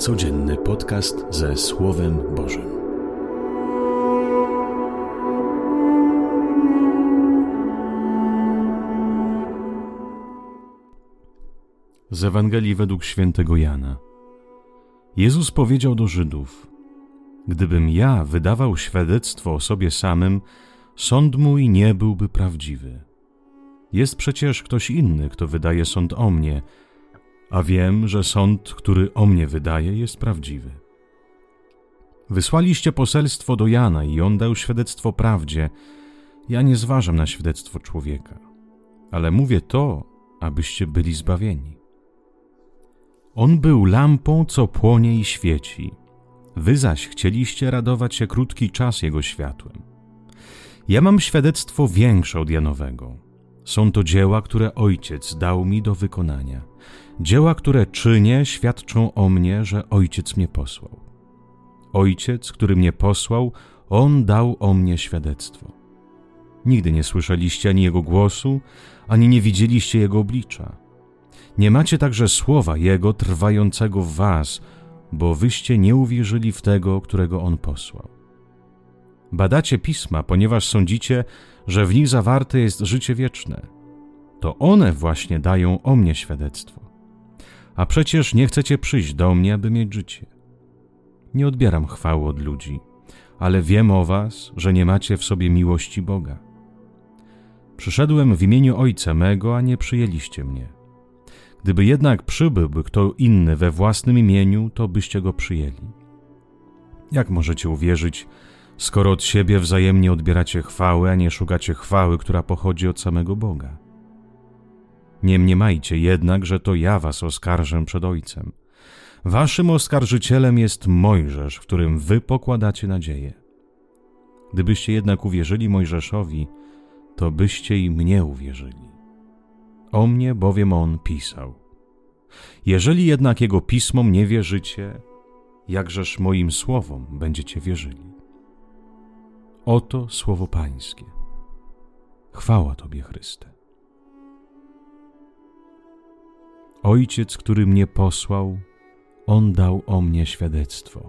Codzienny podcast ze Słowem Bożym. Z Ewangelii według świętego Jana. Jezus powiedział do Żydów: gdybym ja wydawał świadectwo o sobie samym, sąd mój nie byłby prawdziwy. Jest przecież ktoś inny, kto wydaje sąd o mnie, a wiem, że sąd, który o mnie wydaje, jest prawdziwy. Wysłaliście poselstwo do Jana i on dał świadectwo prawdzie. Ja nie zważam na świadectwo człowieka, ale mówię to, abyście byli zbawieni. On był lampą, co płonie i świeci. Wy zaś chcieliście radować się krótki czas jego światłem. Ja mam świadectwo większe od Janowego. Są to dzieła, które Ojciec dał mi do wykonania. Dzieła, które czynię, świadczą o mnie, że Ojciec mnie posłał. Ojciec, który mnie posłał, On dał o mnie świadectwo. Nigdy nie słyszeliście ani Jego głosu, ani nie widzieliście Jego oblicza. Nie macie także słowa Jego trwającego w was, bo wyście nie uwierzyli w tego, którego On posłał. Badacie Pisma, ponieważ sądzicie, że w nich zawarte jest życie wieczne. To one właśnie dają o mnie świadectwo. A przecież nie chcecie przyjść do mnie, aby mieć życie. Nie odbieram chwały od ludzi, ale wiem o was, że nie macie w sobie miłości Boga. Przyszedłem w imieniu Ojca mego, a nie przyjęliście mnie. Gdyby jednak przybyłby kto inny we własnym imieniu, to byście go przyjęli. Jak możecie uwierzyć, skoro od siebie wzajemnie odbieracie chwały, a nie szukacie chwały, która pochodzi od samego Boga? Nie mniemajcie jednak, że to ja was oskarżę przed Ojcem. Waszym oskarżycielem jest Mojżesz, w którym wy pokładacie nadzieję. Gdybyście jednak uwierzyli Mojżeszowi, to byście i mnie uwierzyli. O mnie bowiem on pisał. Jeżeli jednak jego pismom nie wierzycie, jakżeż moim słowom będziecie wierzyli? Oto słowo Pańskie. Chwała Tobie, Chryste. Ojciec, który mnie posłał, On dał o mnie świadectwo.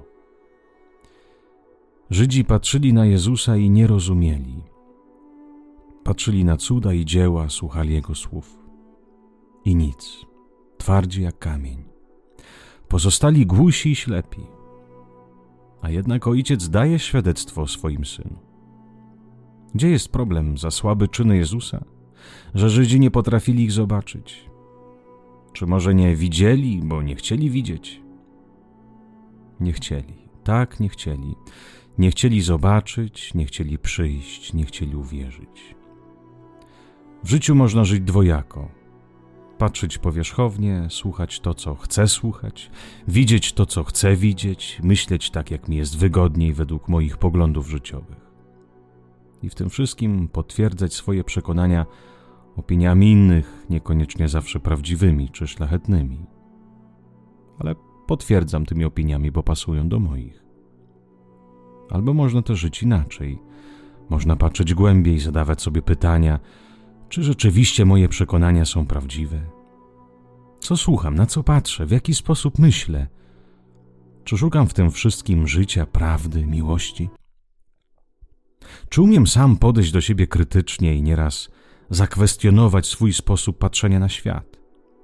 Żydzi patrzyli na Jezusa i nie rozumieli. Patrzyli na cuda i dzieła, słuchali Jego słów. I nic, twardzi jak kamień. Pozostali głusi i ślepi. A jednak Ojciec daje świadectwo o swoim Synu. Gdzie jest problem za słabe czyny Jezusa? Że Żydzi nie potrafili ich zobaczyć? Czy może nie widzieli, bo nie chcieli widzieć? Nie chcieli, tak nie chcieli. Nie chcieli zobaczyć, nie chcieli przyjść, nie chcieli uwierzyć. W życiu można żyć dwojako. Patrzeć powierzchownie, słuchać to, co chcę słuchać, widzieć to, co chcę widzieć, myśleć tak, jak mi jest wygodniej według moich poglądów życiowych. I w tym wszystkim potwierdzać swoje przekonania opiniami innych, niekoniecznie zawsze prawdziwymi czy szlachetnymi. Ale potwierdzam tymi opiniami, bo pasują do moich. Albo można też żyć inaczej. Można patrzeć głębiej, zadawać sobie pytania, czy rzeczywiście moje przekonania są prawdziwe? Co słucham, na co patrzę, w jaki sposób myślę? Czy szukam w tym wszystkim życia, prawdy, miłości? Czy umiem sam podejść do siebie krytycznie i nieraz zakwestionować swój sposób patrzenia na świat?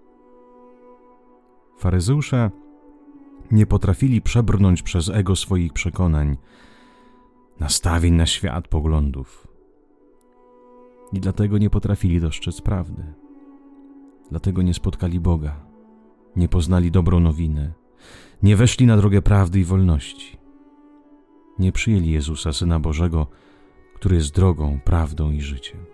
Faryzeusze nie potrafili przebrnąć przez ego swoich przekonań, nastawień na świat, poglądów. I dlatego nie potrafili dostrzec prawdy. Dlatego nie spotkali Boga, nie poznali dobrą nowinę, nie weszli na drogę prawdy i wolności. Nie przyjęli Jezusa, Syna Bożego, który jest drogą, prawdą i życiem.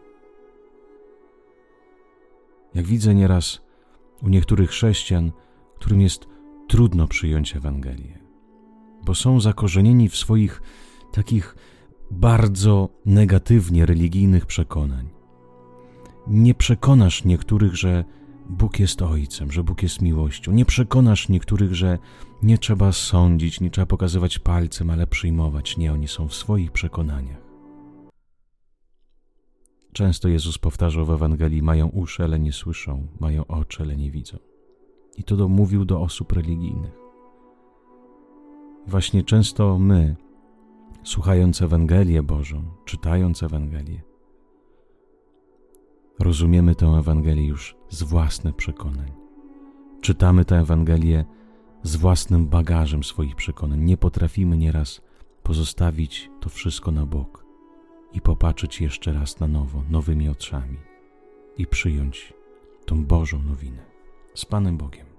Jak widzę nieraz u niektórych chrześcijan, którym jest trudno przyjąć Ewangelię, bo są zakorzenieni w swoich takich bardzo negatywnie religijnych przekonań. Nie przekonasz niektórych, że Bóg jest Ojcem, że Bóg jest miłością. Nie przekonasz niektórych, że nie trzeba sądzić, nie trzeba pokazywać palcem, ale przyjmować. Nie, oni są w swoich przekonaniach. Często Jezus powtarzał w Ewangelii: mają uszy, ale nie słyszą, mają oczy, ale nie widzą. I to mówił do osób religijnych. Właśnie często my, słuchając Ewangelię Bożą, czytając Ewangelię, rozumiemy tę Ewangelię już z własnych przekonań. Czytamy tę Ewangelię z własnym bagażem swoich przekonań. Nie potrafimy nieraz pozostawić to wszystko na bok i popatrzeć jeszcze raz na nowo, nowymi oczami i przyjąć tą Bożą nowinę. Z Panem Bogiem.